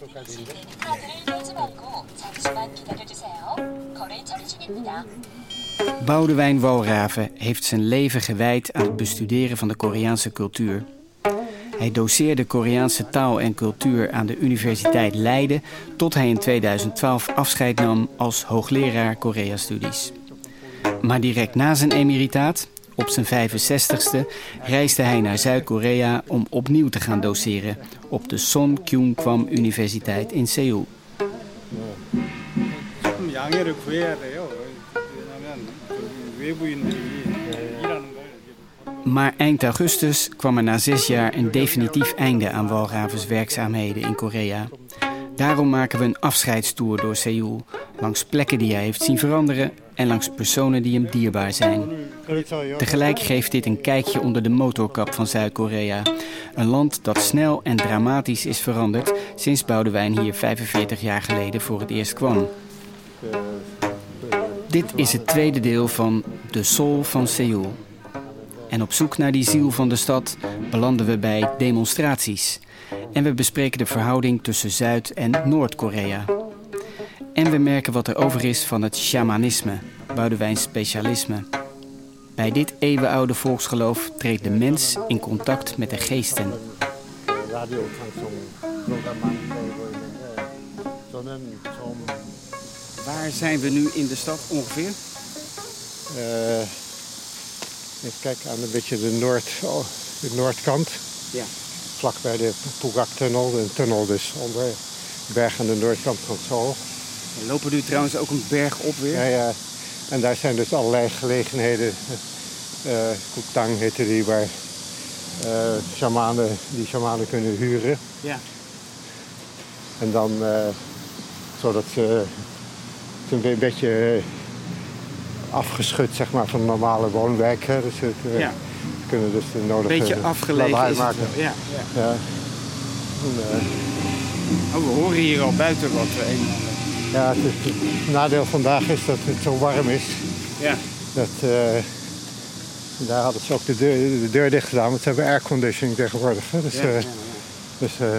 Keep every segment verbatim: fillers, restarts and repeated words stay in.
Boudewijn Walraven heeft zijn leven gewijd aan het bestuderen van de Koreaanse cultuur. Hij doceerde Koreaanse taal en cultuur aan de Universiteit Leiden tot hij in tweeduizend twaalf afscheid nam als hoogleraar Korea-studies. Maar direct na zijn emeritaat, op zijn vijfenzestigste, reisde hij naar Zuid-Korea om opnieuw te gaan doceren op de Son Kyung-kwam Universiteit in Seoul. Maar eind augustus kwam er na zes jaar een definitief einde aan Walravens werkzaamheden in Korea. Daarom maken we een afscheidstoer door Seoul, langs plekken die hij heeft zien veranderen en langs personen die hem dierbaar zijn. Tegelijk geeft dit een kijkje onder de motorkap van Zuid-Korea. Een land dat snel en dramatisch is veranderd sinds Boudewijn hier vijfenveertig jaar geleden voor het eerst kwam. Dit is het tweede deel van De Seoul van Seoul. En op zoek naar die ziel van de stad belanden we bij demonstraties. En we bespreken de verhouding tussen Zuid- en Noord-Korea. En we merken wat er over is van het shamanisme, Boudewijns specialisme. Bij dit eeuwenoude volksgeloof treedt de mens in contact met de geesten. Waar zijn we nu in de stad ongeveer? Uh, ik kijk aan een beetje de, noord, oh, de noordkant. Ja. Vlak bij de Pugak-tunnel. De tunnel dus onder de berg aan de noordkant van Seoul. We lopen nu trouwens ook een berg op weer. Ja, ja. En daar zijn dus allerlei gelegenheden. Uh, Koektang heette die, waar uh, shamanen, die shamanen kunnen huren. Ja. En dan, uh, zodat ze het een beetje afgeschud, zeg maar, van de normale woonwijk. Hè. Dus het, uh, ja. Ze kunnen dus de nodige beetje afgelegen is het wel. Ja, ja. Ja. En, uh, oh, we horen hier al buiten wat. Uh, een... Ja, het, is, het nadeel vandaag is dat het zo warm is. Ja. Dat, uh, daar hadden ze ook de deur, de deur dicht gedaan, want ze hebben airconditioning tegenwoordig. Hè. Dus, ja, uh, ja, ja. dus, uh,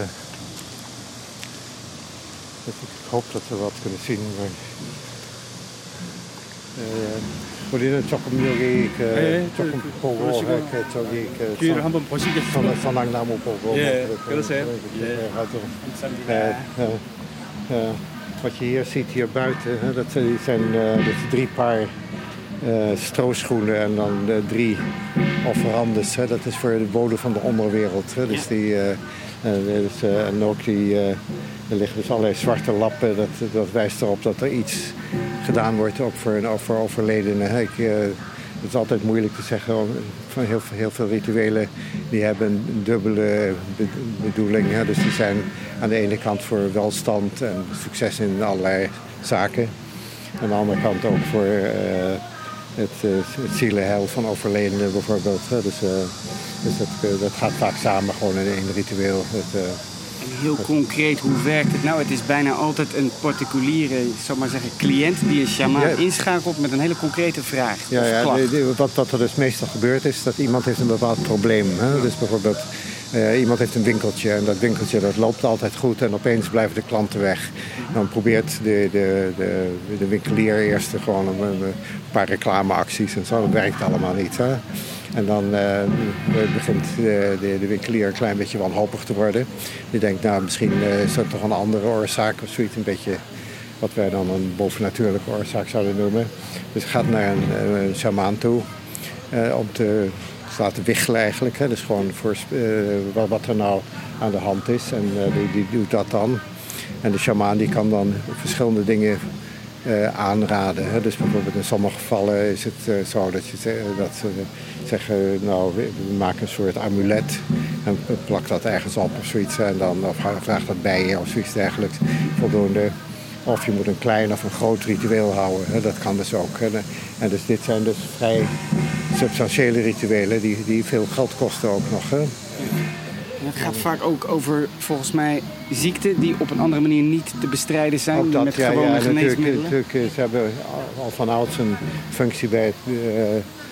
dus ik hoop dat we wat kunnen zien. Maar, 우리는 조금 여기 그 조금 보고 이렇게 저기 그 뒤를 한번 보시겠어요? 선악나무 보고. 예, 그러세요. 예. Wat je hier ziet hier buiten, hè, dat zijn uh, dat drie paar uh, strooschoenen en dan uh, drie offerandes. Hè, dat is voor de bodem van de onderwereld. Hè, dus die, uh, uh, dus, uh, en ook die, uh, er liggen dus allerlei zwarte lappen. Dat, dat wijst erop dat er iets gedaan wordt ook voor, voor overledenen. Hè. Ik, uh, het is altijd moeilijk te zeggen. Van heel, heel veel rituelen die hebben een dubbele bedoeling. Hè. Dus die zijn aan de ene kant voor welstand en succes in allerlei zaken. Aan de andere kant ook voor uh, het, uh, het zielenheil van overledenen bijvoorbeeld. Hè. Dus, uh, dus dat, uh, dat gaat vaak samen gewoon in één ritueel. Het, uh, En heel concreet, hoe werkt het nou? Het is bijna altijd een particuliere, ik zou maar zeggen, cliënt die een shamaan ja. inschakelt met een hele concrete vraag. Ja, ja de, de, wat, wat er dus meestal gebeurt is dat iemand heeft een bepaald probleem. Hè? Dus bijvoorbeeld uh, iemand heeft een winkeltje en dat winkeltje dat loopt altijd goed en opeens blijven de klanten weg. Dan probeert de, de, de, de winkelier eerst gewoon een, een paar reclameacties en zo. Dat werkt allemaal niet. Hè? En dan uh, begint de, de, de winkelier een klein beetje wanhopig te worden. Die denkt, nou, misschien uh, is er toch een andere oorzaak of zoiets. Een beetje wat wij dan een bovennatuurlijke oorzaak zouden noemen. Dus gaat naar een, een shamaan toe uh, om te, te laten wiggelen eigenlijk. Hè. Dus gewoon voor, uh, wat er nou aan de hand is. En uh, die, die doet dat dan. En de shamaan die kan dan verschillende dingen Uh, aanraden. Hè. Dus bijvoorbeeld in sommige gevallen is het uh, zo dat, je, dat ze zeggen, nou, we, we maken een soort amulet en plak dat ergens op of zoiets en dan of vraag dat bij je of zoiets dergelijks. Voldoende. Of je moet een klein of een groot ritueel houden. Hè. Dat kan dus ook. Hè. En dus dit zijn dus vrij substantiële rituelen die, die veel geld kosten ook nog. Hè. En het gaat vaak ook over, volgens mij, ziekten die op een andere manier niet te bestrijden zijn dat, met ja, gewone ja, geneesmiddelen. Natuurlijk, natuurlijk, ze hebben al van ouds een functie bij het uh,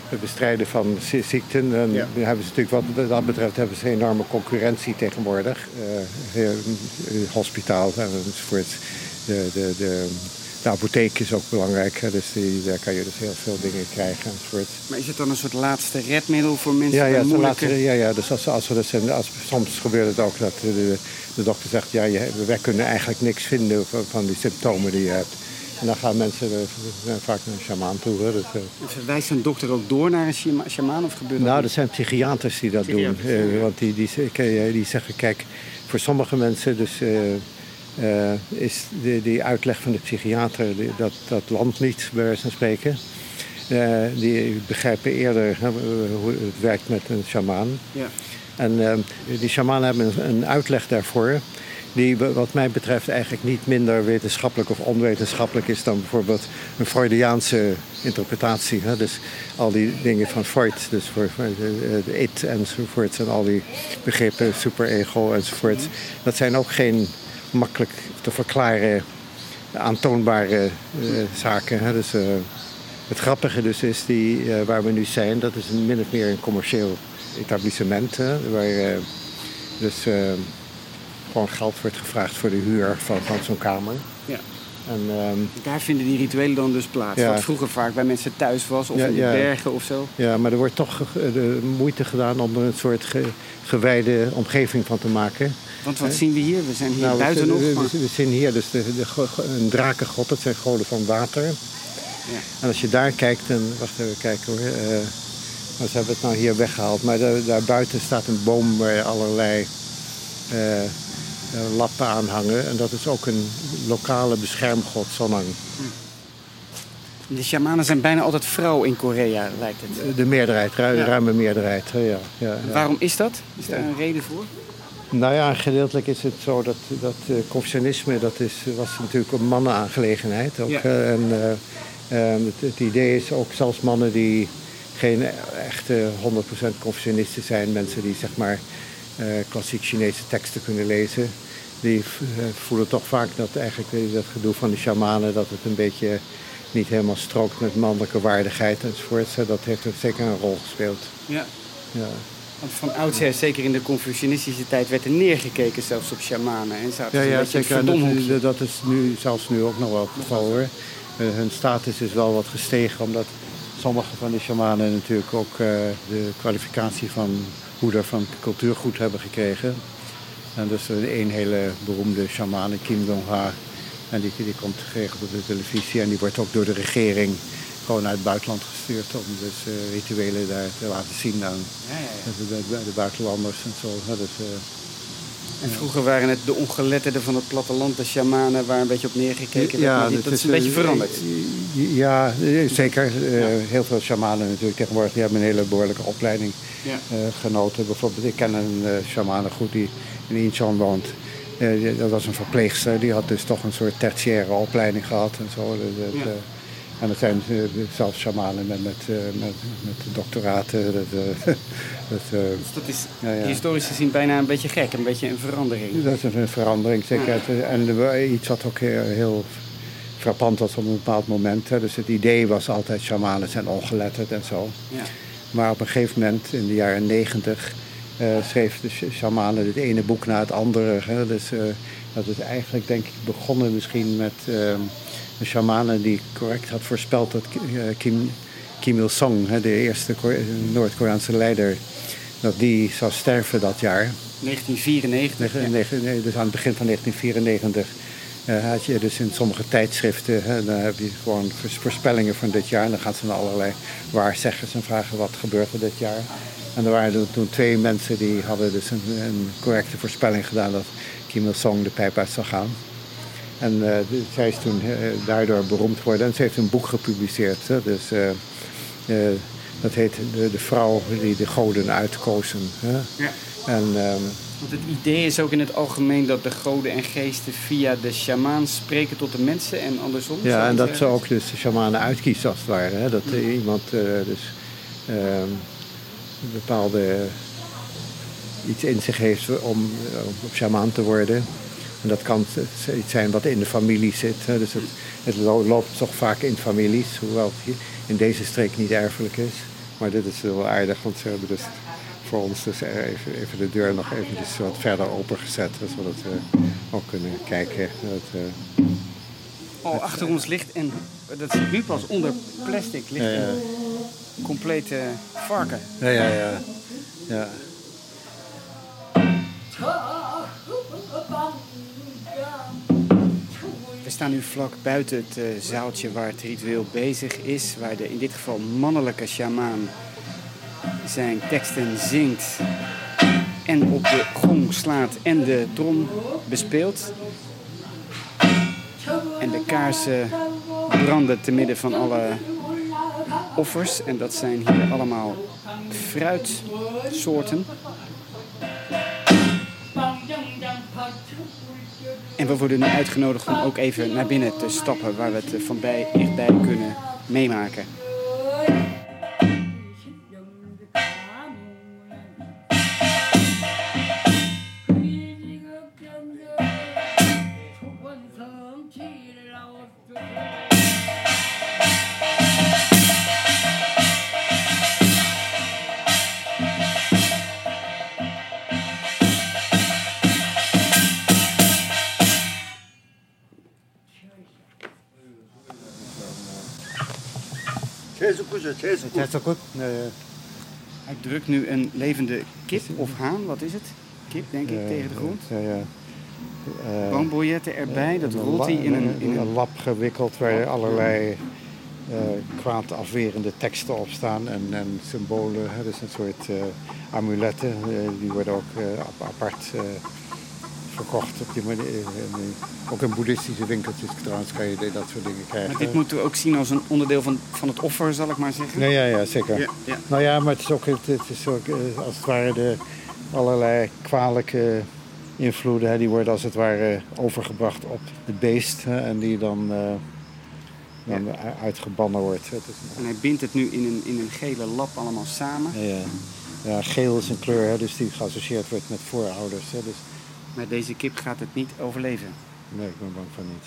het bestrijden van ziekten. En ja. hebben ze natuurlijk wat dat betreft hebben ze enorme concurrentie tegenwoordig. Uh, hospitaal enzovoort. De, de, de, de apotheek is ook belangrijk. Hè? Dus die, daar kan je dus heel veel dingen krijgen enzovoort. Maar is het dan een soort laatste redmiddel voor mensen? Ja, ja, moeilijke... laatste, ja, ja. Dus als, als we dus, als, soms gebeurt het ook dat de, de dokter zegt... ja, je, wij kunnen eigenlijk niks vinden van, van die symptomen die je hebt. En dan gaan mensen uh, vaak naar een sjamaan toe. Hè. Dus, uh... Verwijst een dokter ook door naar een sjamaan of gebeurt dat? Nou, er zijn psychiaters die dat psychiaters, doen. Uh, want die, die, die, die zeggen, kijk, voor sommige mensen dus, uh, uh, is die, die uitleg van de psychiater die, dat, dat landt niet, bij wijze van spreken. Uh, die begrijpen eerder uh, hoe het werkt met een sjamaan. Ja. En uh, die shamanen hebben een, een uitleg daarvoor... die wat mij betreft eigenlijk niet minder wetenschappelijk of onwetenschappelijk is dan bijvoorbeeld een Freudiaanse interpretatie. Hè? Dus al die dingen van Freud, dus voor, voor de, de it enzovoort en al die begrippen, superego enzovoort. Dat zijn ook geen makkelijk te verklaren, aantoonbare uh, zaken. Hè? Dus, uh, het grappige dus is, die, uh, waar we nu zijn, dat is een min of meer een commercieel etablissement. Hè? Waar uh, dus... Uh, gewoon geld wordt gevraagd voor de huur van, van zo'n kamer. Ja. En, um, daar vinden die rituelen dan dus plaats. Ja. Wat vroeger vaak bij mensen thuis was of ja, in de ja. bergen of zo. Ja, maar er wordt toch de moeite gedaan om er een soort ge, gewijde omgeving van te maken. Want wat He? zien we hier? We zijn hier nou, buiten we, nog. We, maar... we, we zien hier dus de, de, de, een drakengod, dat zijn goden van water. Ja. En als je daar kijkt, dan... Wacht even kijken hoor. Uh, maar ze hebben het nou hier weggehaald. Maar daar, daar buiten staat een boom waar allerlei... Uh, Uh, lappen aanhangen. En dat is ook een lokale beschermgod, Sonang. De shamanen zijn bijna altijd vrouw in Korea, lijkt het. De, de meerderheid, ru- ja. ruime meerderheid. Ja, ja, ja. Waarom is dat? Is daar een reden voor? Nou ja, gedeeltelijk is het zo dat, dat uh, Confucianisme, dat is, was natuurlijk een mannenaangelegenheid. Ook, ja. uh, en uh, uh, het, het idee is ook zelfs mannen die geen echte honderd procent Confucianisten zijn, mensen die zeg maar Uh, klassiek Chinese teksten kunnen lezen. Die uh, voelen toch vaak dat eigenlijk uh, dat gedoe van de shamanen... dat het een beetje niet helemaal strookt met mannelijke waardigheid enzovoort. Uh, dat heeft er zeker een rol gespeeld. Ja. Ja. Want van oudsher, zeker in de Confucianistische tijd... werd er neergekeken zelfs op shamanen. En zaten ja, ja, ja zeker. Dat, dat is nu, zelfs nu ook nog wel het geval hoor. Uh, hun status is wel wat gestegen... omdat sommige van die shamanen natuurlijk ook uh, de kwalificatie van... hoeder van cultuurgoed hebben gekregen. En dus een hele beroemde shaman, Kim Dong-ha. En die, die komt geregeld op de televisie. En die wordt ook door de regering gewoon uit het buitenland gestuurd. Om dus uh, rituelen daar te laten zien aan ja, ja, ja. De, de, de buitenlanders en zo. Ja, dus, uh, en vroeger waren het de ongeletterden van het platteland, de shamanen, waar een beetje op neergekeken werd. Ja, dat, dat is een beetje veranderd. Ja, zeker. Ja. Heel veel shamanen natuurlijk tegenwoordig. Die hebben een hele behoorlijke opleiding ja. uh, genoten. Bijvoorbeeld, ik ken een uh, shaman goed die in Incheon woont. Uh, dat was een verpleegster. Die had dus toch een soort tertiaire opleiding gehad en zo. Dat, dat, ja. uh, en er zijn uh, zelfs shamanen met, met, uh, met, met doctoraten. Dat, uh, dat, uh, dus dat is ja, ja. historisch gezien bijna een beetje gek, een beetje een verandering. Dat is een verandering, zeker. Ja. En uh, iets wat ook heel, heel frappant was op een bepaald moment. Hè. Dus het idee was altijd, shamanen zijn ongeletterd en zo. Ja. Maar op een gegeven moment, in de jaren negentig... Uh, schreef de shamanen het ene boek na het andere. Hè. Dus uh, dat is eigenlijk, denk ik, begonnen misschien met... Uh, een shamanen die correct had voorspeld dat Kim, Kim Il-sung, de eerste Noord-Koreaanse leider, dat die zou sterven dat jaar. negentien vierennegentig. Ne- ja. ne- dus aan het begin van negentien vierennegentig uh, had je dus in sommige tijdschriften, hè, dan heb je gewoon voorspellingen van dit jaar. En dan gaan ze naar allerlei waarzeggers en vragen wat gebeurt er dit jaar. En er waren toen twee mensen die hadden dus een, een correcte voorspelling gedaan dat Kim Il-sung de pijp uit zou gaan. En uh, zij is toen uh, daardoor beroemd geworden. En ze heeft een boek gepubliceerd. Hè? Dus, uh, uh, dat heet de, de vrouw die de goden uitkozen. Hè? Ja. En, um, Want het idee is ook in het algemeen dat de goden en geesten via de sjamaan spreken tot de mensen en andersom. Ja, en dat ze ook dus de shamanen uitkiezen als het ware. Hè? Dat uh, iemand uh, dus uh, een bepaalde iets in zich heeft om uh, op shamaan te worden. En dat kan iets zijn wat in de familie zit. Hè. Dus het, het loopt toch vaak in families, hoewel het in deze streek niet erfelijk is. Maar dit is wel aardig, want ze hebben dus voor ons dus even, even de deur nog eventjes wat verder opengezet. Zodat we ook kunnen kijken. Dat, uh, oh, achter ons ligt, en dat zie ik nu pas onder plastic, ligt ja, ja. een complete varken. Ja, ja, ja. ja. We staan nu vlak buiten het uh, zaaltje waar het ritueel bezig is. Waar de in dit geval mannelijke sjamaan zijn teksten zingt. En op de gong slaat en de trom bespeelt. En de kaarsen branden te midden van alle offers. En dat zijn hier allemaal fruitsoorten. En we worden nu uitgenodigd om ook even naar binnen te stappen, waar we het van bij, dichtbij kunnen meemaken. Het is goed. Hij drukt nu een levende kip of haan, wat is het? Kip, denk ik, uh, tegen de grond. Ja, ja. Uh, Boombiljetten erbij, dat rolt hij in een... In een lap gewikkeld waar allerlei uh, kwaadafwerende teksten op staan en, en symbolen. Hè, dus een soort uh, amuletten, uh, die worden ook uh, apart uh, verkocht op die manier. Ook in boeddhistische winkeltjes trouwens kan je dat soort dingen krijgen. Maar dit moeten we ook zien als een onderdeel van, van het offer, zal ik maar zeggen? Nee, ja, ja, zeker. Ja, ja. Nou ja, maar het is ook, het, het is ook als het ware de allerlei kwalijke invloeden, hè, die worden als het ware overgebracht op het beest, hè, en die dan, uh, dan ja. uitgebannen wordt. Het is... En hij bindt het nu in een, in een gele lap allemaal samen. Ja, ja. Ja, geel is een kleur, hè, dus die geassocieerd wordt met voorouders. Hè, dus... Maar deze kip gaat het niet overleven? Nee, ik ben bang van niet.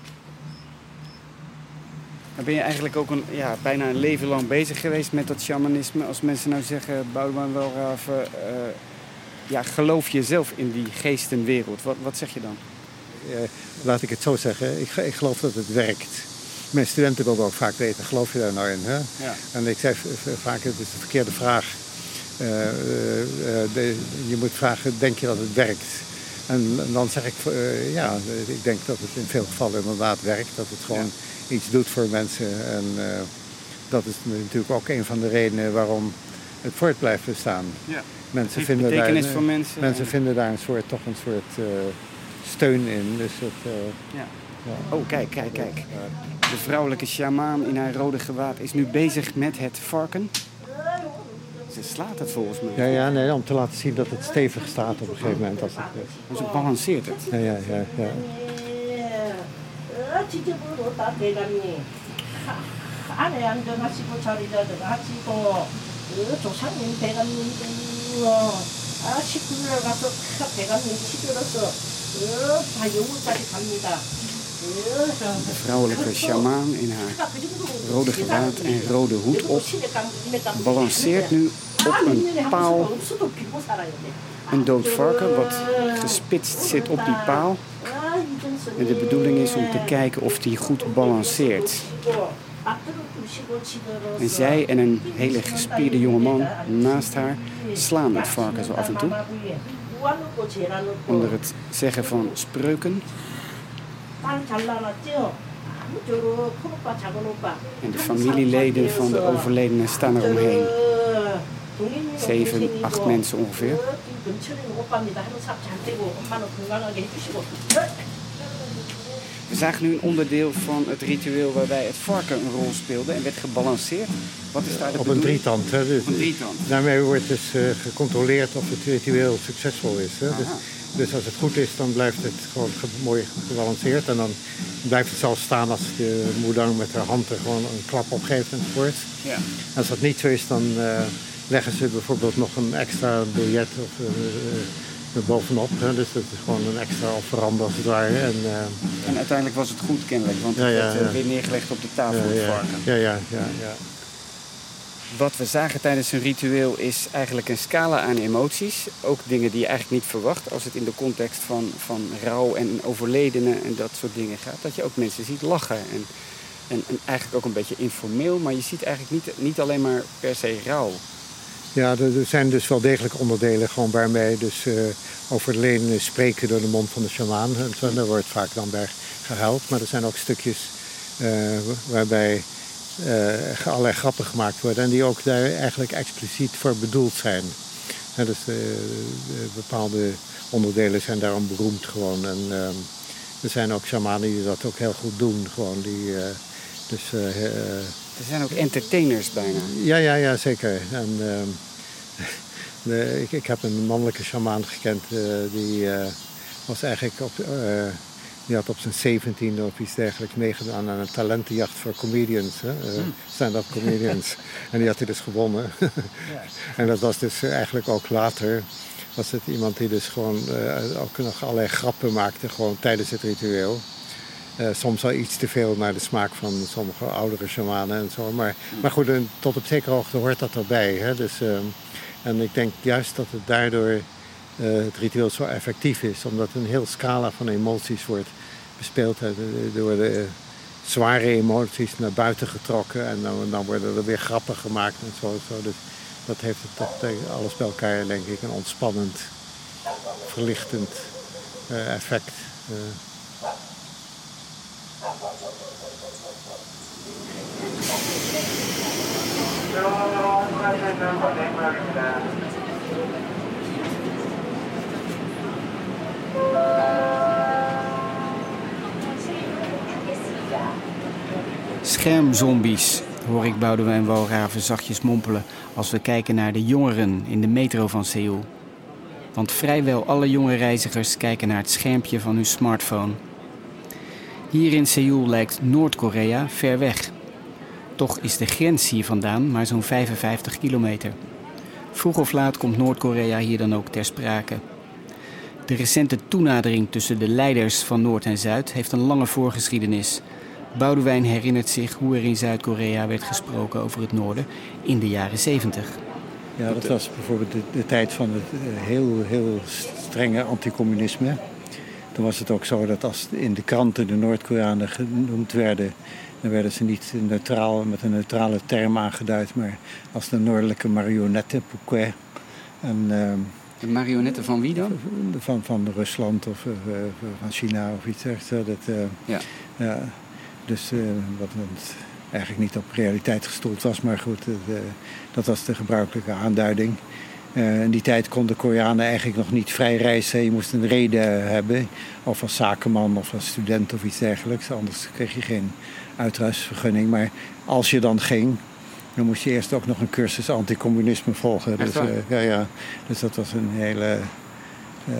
Dan ben je eigenlijk ook een, ja, bijna een leven lang bezig geweest met dat shamanisme. Als mensen nou zeggen, Boudewijn Walraven, uh, ja, geloof je zelf in die geestenwereld? Wat, wat zeg je dan? Ja, laat ik het zo zeggen, ik, ik geloof dat het werkt. Mijn studenten wilden ook vaak weten, geloof je daar nou in? Hè? Ja. En ik zeg vaak, het is de verkeerde vraag. Uh, uh, de, je moet vragen, denk je dat het werkt? En, en dan zeg ik, uh, ja, ik denk dat het in veel gevallen inderdaad werkt. Dat het gewoon ja. iets doet voor mensen. En uh, dat is natuurlijk ook een van de redenen waarom het voort blijft bestaan. Ja. Mensen, vinden daar, voor mensen, mensen vinden daar een soort, toch een soort uh, steun in. Dus het, uh, ja. Ja. Oh, kijk, kijk, kijk. De vrouwelijke sjamaan in haar rode gewaad is nu bezig met het varken. Ze slaat het volgens mij. Ja, ja, nee, om te laten zien dat het stevig staat op een gegeven moment. Als het dus het balanceert het. Ja, ja, ja. ja. De vrouwelijke sjamaan in haar rode gewaad en rode hoed op balanceert nu op een paal een dood varken wat gespitst zit op die paal. En de bedoeling is om te kijken of die goed balanceert. En zij en een hele gespierde jongeman naast haar slaan het varken zo af en toe. Onder het zeggen van spreuken. En de familieleden van de overledene staan eromheen. Zeven, acht mensen ongeveer. We zagen nu een onderdeel van het ritueel waarbij het varken een rol speelde en werd gebalanceerd. Wat is daar de Op bedoeling? een drietand. Hè? Dus, een drietand. Daarmee wordt dus uh, gecontroleerd of het ritueel succesvol is. Hè? Dus, dus als het goed is, dan blijft het gewoon ge mooi gebalanceerd. En dan blijft het zelfs staan als de moeder met haar hand er gewoon een klap op geeft enzovoort. Ja. Als dat niet zo is, dan uh, leggen ze bijvoorbeeld nog een extra biljet of, uh, uh, bovenop. Hè? Dus dat is gewoon een extra offerande als het ware. En, uh, en uiteindelijk was het goed kennelijk, want het ja, ja, werd uh, ja. weer neergelegd op de tafel. Ja, het ja, varken. ja, ja, ja, ja. wat we zagen tijdens een ritueel is eigenlijk een scala aan emoties. Ook dingen die je eigenlijk niet verwacht als het in de context van, van rouw en overledenen en dat soort dingen gaat. Dat je ook mensen ziet lachen. En, en, en eigenlijk ook een beetje informeel, maar je ziet eigenlijk niet, niet alleen maar per se rouw. Ja, er zijn dus wel degelijk onderdelen gewoon waarbij dus uh, overledenen spreken door de mond van de sjamaan. En daar wordt vaak dan bij gehuild. Maar er zijn ook stukjes uh, waarbij uh, allerlei grappen gemaakt worden. En die ook daar eigenlijk expliciet voor bedoeld zijn. Ja, dus uh, bepaalde onderdelen zijn daarom beroemd gewoon. En uh, er zijn ook shamanen die dat ook heel goed doen. Gewoon die, uh, dus, uh, uh, er zijn ook entertainers bijna. Ja, ja, ja, zeker. En, uh, de, ik, ik heb een mannelijke shamaan gekend. Uh, die uh, was eigenlijk op, uh, die had op zijn zeventiende of iets dergelijks meegedaan aan een talentenjacht voor comedians. Hè? Uh, mm. Stand-up comedians. En die had hij dus gewonnen. Ja. En dat was dus eigenlijk ook later. Was het iemand die dus gewoon uh, ook nog allerlei grappen maakte gewoon tijdens het ritueel. Uh, soms wel iets te veel naar de smaak van sommige oudere shamanen en zo. Maar, maar goed, tot op zekere hoogte hoort dat erbij. Hè? Dus, uh, en ik denk juist dat het daardoor uh, het ritueel zo effectief is. Omdat een heel scala van emoties wordt bespeeld. Hè? Door de zware emoties naar buiten getrokken. En dan, dan worden er weer grappen gemaakt en zo. zo. Dus dat heeft het toch alles bij elkaar, denk ik, een ontspannend, verlichtend uh, effect. Uh, Schermzombies, hoor ik Boudewijn Walraven zachtjes mompelen als we kijken naar de jongeren in de metro van Seoul. Want vrijwel alle jonge reizigers kijken naar het schermpje van hun smartphone. Hier in Seoul lijkt Noord-Korea ver weg. Toch is de grens hier vandaan maar zo'n vijfenvijftig kilometer. Vroeg of laat komt Noord-Korea hier dan ook ter sprake. De recente toenadering tussen de leiders van Noord en Zuid heeft een lange voorgeschiedenis. Boudewijn herinnert zich hoe er in Zuid-Korea werd gesproken over het noorden in de jaren zeventig. Ja, dat was bijvoorbeeld de, de tijd van het heel, heel strenge anticommunisme. Toen was het ook zo dat als in de kranten de Noord-Koreanen genoemd werden, dan werden ze niet neutraal, met een neutrale term aangeduid, maar als de noordelijke marionetten, Pukwe. En, uh, de marionetten van wie dan? Van, van Rusland of uh, van China of iets dergelijks. Dat, uh, ja. Uh, dus uh, wat eigenlijk niet op realiteit gestoeld was, maar goed, uh, dat was de gebruikelijke aanduiding. Uh, in die tijd konden Koreanen eigenlijk nog niet vrij reizen. Je moest een reden hebben, of als zakenman of als student of iets dergelijks. Anders kreeg je geen uitreisvergunning. Maar als je dan ging, dan moest je eerst ook nog een cursus anticommunisme volgen. Dus, uh, ja, ja. Dus dat was een hele uh,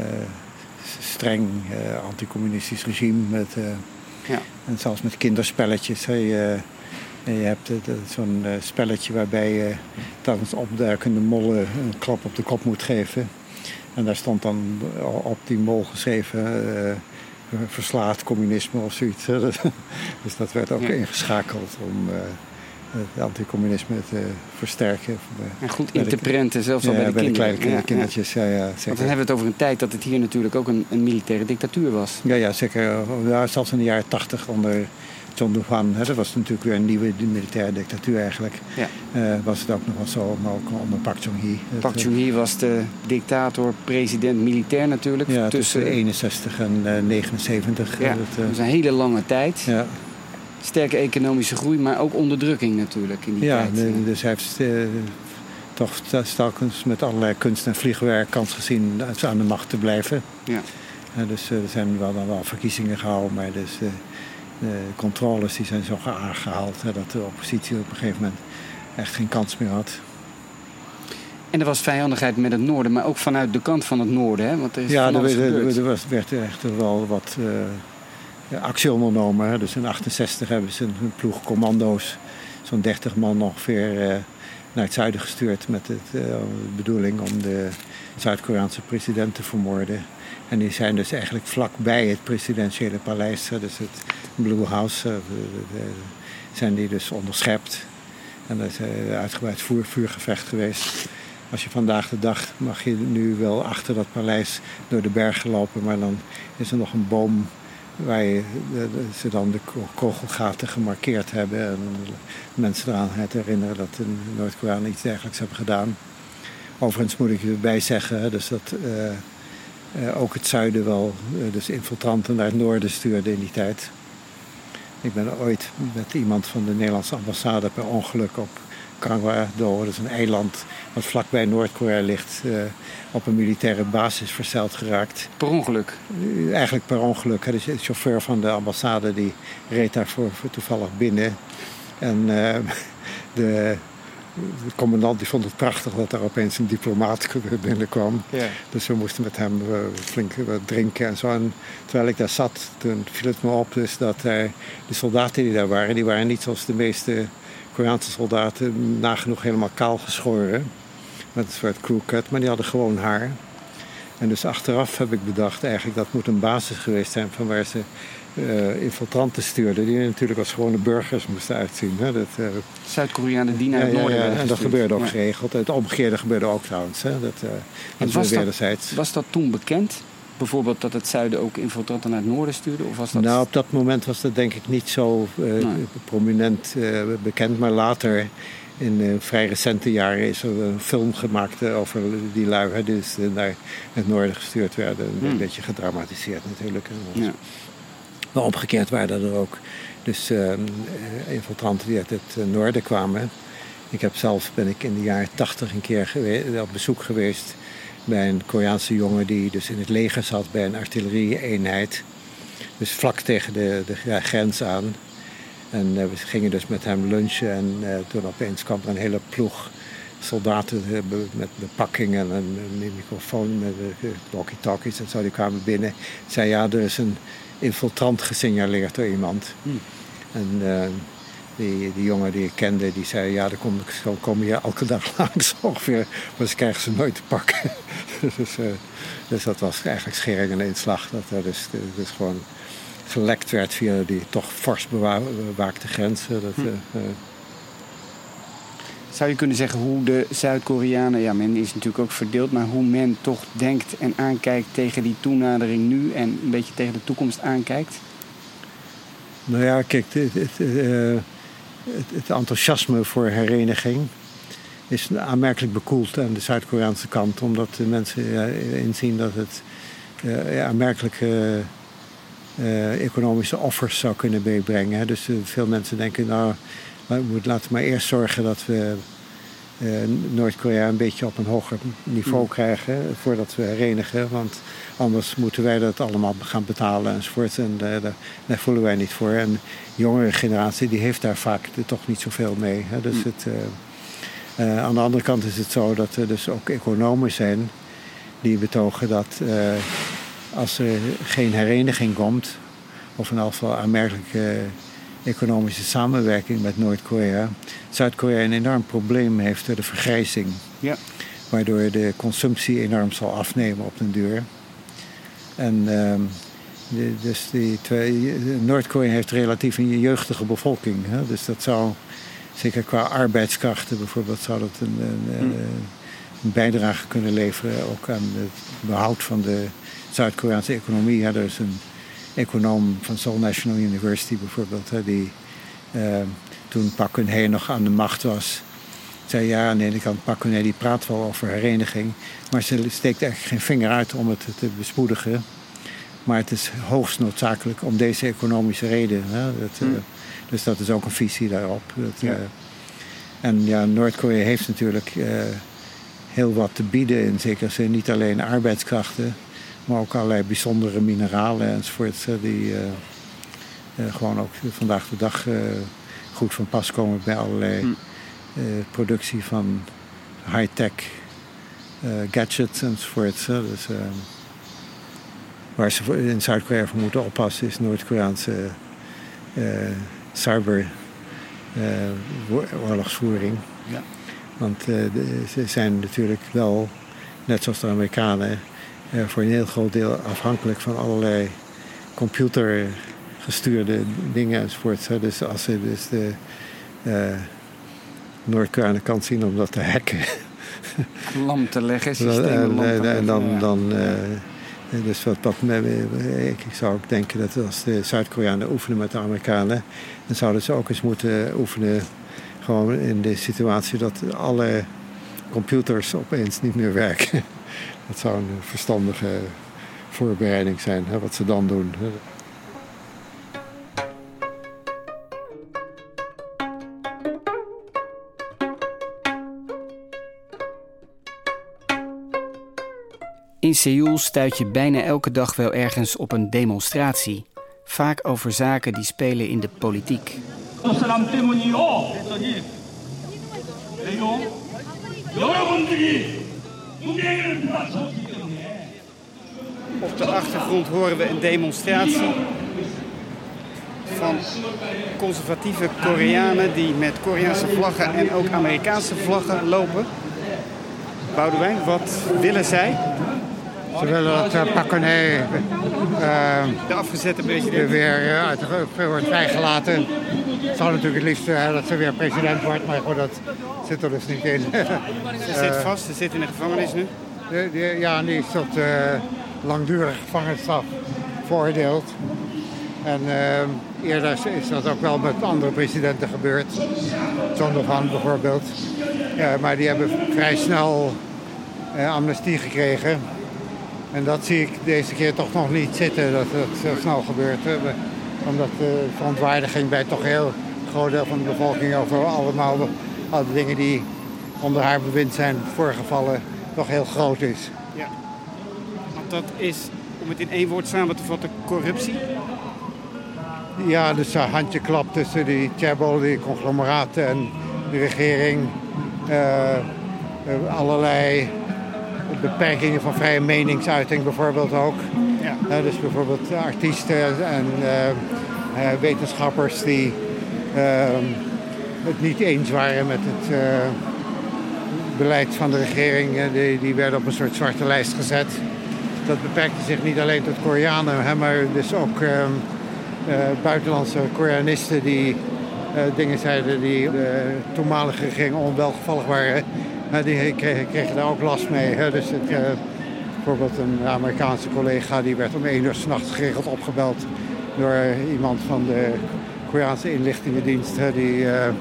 streng uh, anticommunistisch regime. Met, uh, ja. En zelfs met kinderspelletjes. Hè. Je, je hebt uh, zo'n uh, spelletje waarbij je tijdens opduikende mollen een klap op de kop moet geven. En daar stond dan op die mol geschreven Uh, verslaat communisme of zoiets. Dus dat werd ook ja. ingeschakeld om uh, het anticommunisme te versterken. En goed in te prenten, zelfs al ja, bij de bij kinderen. de kleine ja, kindertjes. Ja. Ja, ja, Want dan hebben we het over een tijd dat het hier natuurlijk ook een, een militaire dictatuur was. Ja, ja zeker. Ja, zelfs in de jaren tachtig onder John Doohan. Hè, dat was natuurlijk weer een nieuwe militaire dictatuur eigenlijk. Ja. Uh, was het ook nog wel zo, maar ook onder Park Chung-hee. Park Chung-hee was de dictator, president, militair natuurlijk. Ja, tussen, tussen eenenzestig en uh, negenenzeventig. Ja, dat, uh, dat is een hele lange tijd. Ja. Sterke economische groei, maar ook onderdrukking natuurlijk in die ja, tijd. De, dus hij heeft uh, toch telkens met allerlei kunst- en vliegwerk kans gezien aan de macht te blijven. Ja. Uh, dus uh, er zijn wel dan wel verkiezingen gehouden, maar dus, uh, de controles die zijn zo aangehaald hè, dat de oppositie op een gegeven moment echt geen kans meer had. En er was vijandigheid met het noorden, maar ook vanuit de kant van het noorden, hè? Want er is ja, van alles er, gebeurd. er was, werd echt wel wat uh, actie ondernomen. Hè. Dus in achtenzestig hebben ze een ploeg commando's, zo'n dertig man ongeveer, uh, naar het zuiden gestuurd met het, uh, de bedoeling om de Zuid-Koreaanse president te vermoorden. En die zijn dus eigenlijk vlakbij het presidentiële paleis, hè, dus het Blue House, uh, de, de, zijn die dus onderschept. En er is een uitgebreid vuur, vuurgevecht geweest. Als je vandaag de dag mag je nu wel achter dat paleis door de bergen lopen, maar dan is er nog een boom waar je, de, de, ze dan de kogelgaten gemarkeerd hebben en mensen eraan herinneren dat de Noord-Koreanen iets dergelijks hebben gedaan. Overigens moet ik erbij zeggen dus dat uh, uh, ook het zuiden wel uh, dus infiltranten naar het noorden stuurde in die tijd. Ik ben ooit met iemand van de Nederlandse ambassade per ongeluk op Kangwa-do, dat is een eiland wat vlakbij Noord-Korea ligt, uh, op een militaire basis verzeild geraakt. Per ongeluk? Uh, eigenlijk per ongeluk. Hè. Dus de chauffeur van de ambassade die reed daar voor, voor toevallig binnen. En uh, de, de commandant die vond het prachtig dat er opeens een diplomaat binnenkwam. Ja. Dus we moesten met hem uh, flink uh, drinken en zo. En terwijl ik daar zat, toen viel het me op dus dat uh, de soldaten die daar waren, die waren niet zoals de meeste Koreaanse soldaten nagenoeg helemaal kaal geschoren. Met een soort crewcut, maar die hadden gewoon haar. En dus achteraf heb ik bedacht eigenlijk dat moet een basis geweest zijn van waar ze uh, infiltranten stuurden. Die natuurlijk als gewone burgers moesten uitzien. Hè? Dat, uh, Zuid-Koreanen die naar het ja, noorden ja, ja. werden En dat gestuurd. gebeurde ook ja. geregeld. Het omgekeerde gebeurde ook trouwens. Hè? Dat, uh, dat was, wederzijds. dat, was dat toen bekend? Bijvoorbeeld dat het zuiden ook infiltranten naar het noorden stuurde? Of was dat... Nou, op dat moment was dat denk ik niet zo uh, nee. prominent uh, bekend. Maar later, in uh, vrij recente jaren, is er een film gemaakt uh, over die lui die dus, uh, naar het noorden gestuurd werden. Hmm. Een beetje gedramatiseerd natuurlijk. Ja. Maar omgekeerd waren er ook dus uh, infiltranten die uit het uh, noorden kwamen. Ik heb zelf, ben ik in de jaren tachtig een keer gewe- op bezoek geweest bij een Koreaanse jongen die dus in het leger zat bij een artillerie-eenheid. Dus vlak tegen de, de grens aan. En uh, we gingen dus met hem lunchen en uh, toen opeens kwam er een hele ploeg soldaten uh, met bepakkingen en een microfoon met uh, walkie-talkies en zo. Die kwamen binnen. Zei ja, er is een infiltrant gesignaleerd door iemand. Hmm. En uh, die, die jongen die ik kende, die zei ja, dan kom, zo kom je elke dag langs ongeveer, maar ze krijgen ze nooit te pakken. dus, uh, dus dat was eigenlijk schering en inslag. Dat er dus, dus gewoon gelekt werd via die toch fors bewaakte grenzen. Dat, uh, uh, Zou je kunnen zeggen hoe de Zuid-Koreanen, ja, men is natuurlijk ook verdeeld, maar hoe men toch denkt en aankijkt tegen die toenadering nu en een beetje tegen de toekomst aankijkt? Nou ja, kijk, het, het, uh, het, het enthousiasme voor hereniging is aanmerkelijk bekoeld aan de Zuid-Koreaanse kant, omdat de mensen uh, inzien dat het uh, aanmerkelijke uh, economische offers zou kunnen meebrengen. Hè. Dus uh, veel mensen denken, nou, we moeten laten we maar eerst zorgen dat we uh, Noord-Korea een beetje op een hoger niveau krijgen voordat we herenigen. Want anders moeten wij dat allemaal gaan betalen enzovoort. En uh, daar, daar voelen wij niet voor. En de jongere generatie die heeft daar vaak toch niet zoveel mee. Hè. Dus het, uh, uh, aan de andere kant is het zo dat er dus ook economen zijn die betogen dat uh, als er geen hereniging komt, of in elk geval aanmerkelijke economische samenwerking met Noord-Korea, Zuid-Korea een enorm probleem heeft door de vergrijzing. Ja. Waardoor de consumptie enorm zal afnemen op den duur. En uh, de, dus die twee, Noord-Korea heeft relatief een jeugdige bevolking. Hè? Dus dat zou, zeker qua arbeidskrachten bijvoorbeeld, zou dat een, een, hmm. een bijdrage kunnen leveren ook aan het behoud van de Zuid-Koreaanse economie. Ja, er is een econoom van Seoul National University bijvoorbeeld, hè, die uh, toen Park Geun-hye nog aan de macht was, zei ja, aan de ene kant Park Geun-hye die praat wel over hereniging, maar ze steekt eigenlijk geen vinger uit om het te bespoedigen. Maar het is hoogst noodzakelijk om deze economische reden. Hè, dat, uh, hmm. Dus dat is ook een visie daarop. Dat, ja. Uh, en ja, Noord-Korea heeft natuurlijk uh, heel wat te bieden in zekere zin, niet alleen arbeidskrachten, maar ook allerlei bijzondere mineralen enzovoort, die uh, uh, gewoon ook vandaag de dag uh, goed van pas komen bij allerlei uh, productie van high-tech uh, gadgets enzovoort. Dus, uh, waar ze in Zuid-Korea voor moeten oppassen is Noord-Koreaanse uh, cyber uh, oorlogsvoering. Ja. Want uh, de, ze zijn natuurlijk wel, net zoals de Amerikanen, Uh, voor een heel groot deel afhankelijk van allerlei computergestuurde dingen enzovoort. Dus als ze dus de uh, Noord-Korea aan de kant zien om dat te hacken. Lam te leggen, En, systemen lam te en, leggen. en dan... ja. dan uh, dus wat, wat ik, ik zou ook denken dat als de Zuid-Koreanen oefenen met de Amerikanen, dan zouden ze ook eens moeten oefenen gewoon in de situatie dat alle computers opeens niet meer werken. Dat zou een verstandige voorbereiding zijn, hè, wat ze dan doen. In Seoul stuit je bijna elke dag wel ergens op een demonstratie. Vaak over zaken die spelen in de politiek. Op de achtergrond horen we een demonstratie van conservatieve Koreanen die met Koreaanse vlaggen en ook Amerikaanse vlaggen lopen. Boudewijn, wat willen zij? Ze willen dat uh, Park Geun-hye uh, De afgezette president. weer uh, uit de wordt vrijgelaten. Het zou natuurlijk het liefst uh, dat ze weer president wordt, maar goed, dat zit er dus niet in. Ze zit vast, ze zit in de gevangenis nu. De, de, ja, die is tot uh, langdurige gevangenisstraf veroordeeld. En uh, eerder is dat ook wel met andere presidenten gebeurd. Zondervan bijvoorbeeld. Ja, maar die hebben vrij snel uh, amnestie gekregen. En dat zie ik deze keer toch nog niet zitten, dat het zo snel gebeurt. Hè. Omdat de verontwaardiging bij toch een heel groot deel van de bevolking over allemaal de, alle dingen die onder haar bewind zijn voorgevallen, toch heel groot is. Ja, want dat is, om het in één woord samen te vatten, corruptie. Ja, dus een handjeklap tussen die chaebol, die conglomeraten en de regering. Uh, uh, allerlei beperkingen van vrije meningsuiting bijvoorbeeld ook. Ja. Uh, dus bijvoorbeeld artiesten en uh, uh, wetenschappers die uh, het niet eens waren met het uh, beleid van de regering. Uh, die, die werden op een soort zwarte lijst gezet. Dat beperkte zich niet alleen tot Koreanen, hè, maar dus ook uh, uh, buitenlandse Koreanisten die uh, dingen zeiden die de toenmalige regering onwelgevallig waren. Uh, die kregen, kregen daar ook last mee. Hè. Dus het, uh, bijvoorbeeld een Amerikaanse collega die werd om één uur 's nachts geregeld opgebeld door uh, iemand van de Koreaanse inlichtingendienst. Hè, die uh, uh,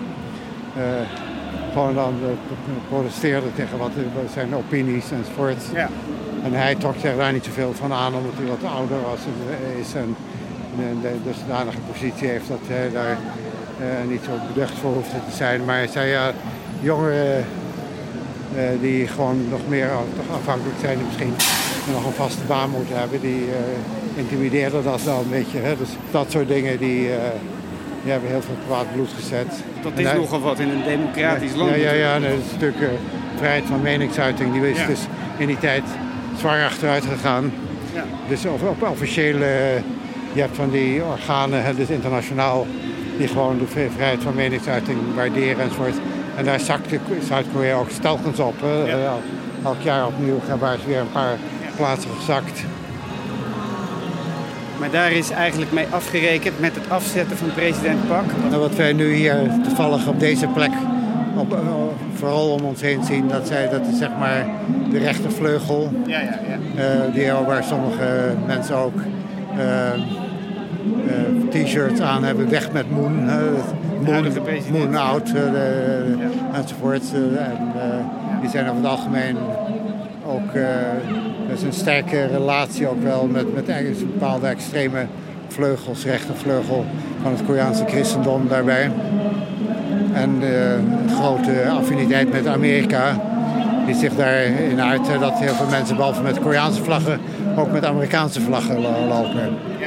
gewoon dan uh, protesteerde tegen wat uh, zijn opinies enzovoort. Ja. En hij trok zich daar niet zoveel van aan omdat hij wat ouder was en is en de dusdanige positie heeft dat hij daar uh, niet zo beducht voor hoefde te zijn. Maar hij zei ja, jongeren uh, die gewoon nog meer toch afhankelijk zijn en misschien nog een vaste baan moeten hebben, die uh, intimideerden dat wel een beetje. Hè? Dus dat soort dingen die, uh, die hebben heel veel kwaad bloed gezet. Dat is hij, nogal wat in een democratisch ja, land. Ja, ja, ja, dat is natuurlijk uh, vrijheid van meningsuiting. Die is ja. dus in die tijd zwaar achteruit gegaan. Ja. Dus op, op officiële, je hebt van die organen, dus internationaal, die gewoon de vrijheid van meningsuiting waarderen enzovoort. En daar zakt Zuid-Korea ook telkens op. Ja. Uh, elk jaar opnieuw waar ze weer een paar ja. plaatsen gezakt. Maar daar is eigenlijk mee afgerekend met het afzetten van president Park. Nou, wat wij nu hier toevallig op deze plek op, uh, vooral om ons heen zien, dat, zij, dat is zeg maar de rechtervleugel. Ja, ja, ja. Uh, die, waar sommige mensen ook uh, uh, t-shirts aan hebben, weg met Moon. Uh, Moon, Moon out uh, de, ja. enzovoort. Uh, en, uh, die zijn over het algemeen ook, uh, er is een sterke relatie ook wel met, met een bepaalde extreme vleugels, rechtervleugel van het Koreaanse christendom daarbij. En uh, een grote affiniteit met Amerika die zich daarin uit uh, dat heel veel mensen behalve met Koreaanse vlaggen ook met Amerikaanse vlaggen lopen. Ja.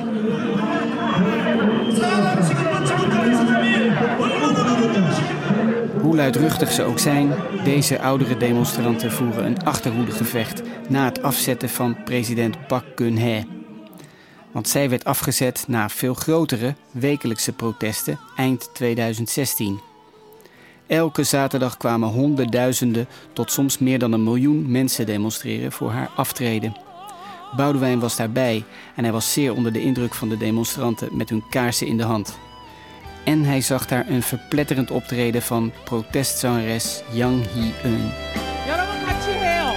Hoe luidruchtig ze ook zijn, deze oudere demonstranten voeren een achterhoedegevecht na het afzetten van president Park Geun-hye. Want zij werd afgezet na veel grotere wekelijkse protesten eind tweeduizend zestien. Elke zaterdag kwamen honderdduizenden tot soms meer dan een miljoen mensen demonstreren voor haar aftreden. Boudewijn was daarbij en hij was zeer onder de indruk van de demonstranten met hun kaarsen in de hand. En hij zag daar een verpletterend optreden van protestzangeres Yang Hee-eun. 여러분 같이 해요.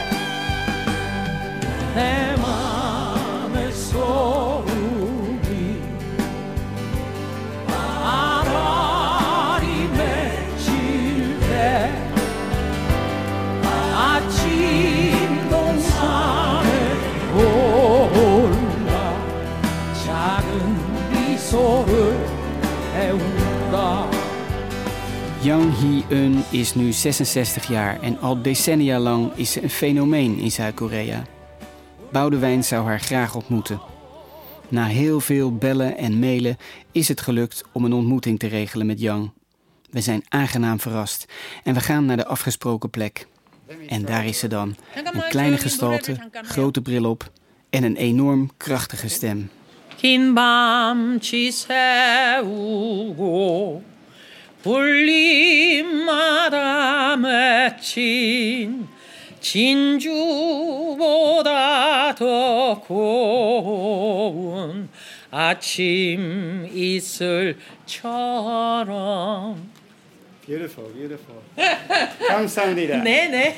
내 맘의 소음이 아라리 맺힐 때 아침 동산에 올라 작은 미소를 배운다. Yang Hee-eun is nu zesenzestig jaar en al decennia lang is ze een fenomeen in Zuid-Korea. Boudewijn zou haar graag ontmoeten. Na heel veel bellen en mailen is het gelukt om een ontmoeting te regelen met Yang. We zijn aangenaam verrast en we gaan naar de afgesproken plek. En daar is ze dan. Een kleine gestalte, grote bril op en een enorm krachtige stem. 긴 밤치 세우고 불림마다 맺힌 진주보다 더 고운 아침 이슬처럼. Beautiful, beautiful. 감사합니다. 네, 네.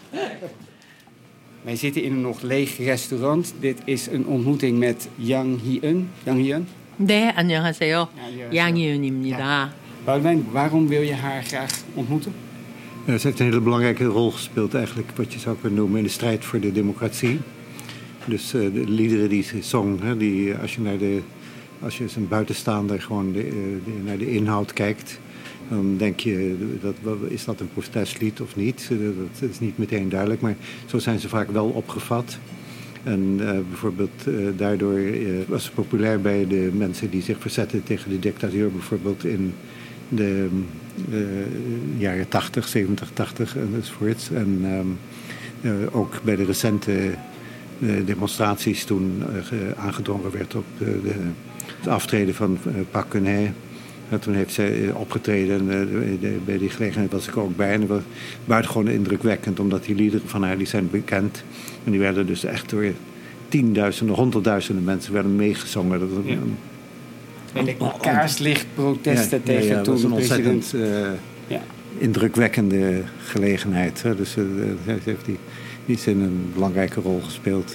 Wij zitten in een nog leeg restaurant. Dit is een ontmoeting met Yang Hee-eun. Yang Hee-eun. 네, 안녕하세요. 안녕하세요. 양희은입니다. Boudewijn, waarom wil je haar graag ontmoeten? Uh, ze heeft een hele belangrijke rol gespeeld eigenlijk, wat je zou kunnen noemen, in de strijd voor de democratie. Dus uh, de liederen die ze zong, hè, die, als je naar de, als je als een buitenstaander gewoon de, de, naar de inhoud kijkt, dan denk je, dat, is dat een protestlied of niet? Dat is niet meteen duidelijk, maar zo zijn ze vaak wel opgevat. En uh, bijvoorbeeld uh, daardoor uh, was ze populair bij de mensen die zich verzetten tegen de dictatuur, bijvoorbeeld in de uh, jaren tachtig, zeventig, tachtig enzovoorts. En um, uh, ook bij de recente uh, demonstraties toen uh, aangedrongen werd op uh, de, het aftreden van uh, Park Geun-hye. En toen heeft zij uh, opgetreden en uh, de, bij die gelegenheid was ik ook bij. En dat was buitengewoon indrukwekkend, omdat die liederen van haar die zijn bekend. En die werden dus echt door tienduizenden, honderdduizenden mensen werden meegezongen. Dat was ja. een, en de kaarslichtprotesten ja, tegen ja, ja, toen een president. ontzettend uh, ja. indrukwekkende gelegenheid. Hè. Dus uh, ze heeft die, die in een belangrijke rol gespeeld.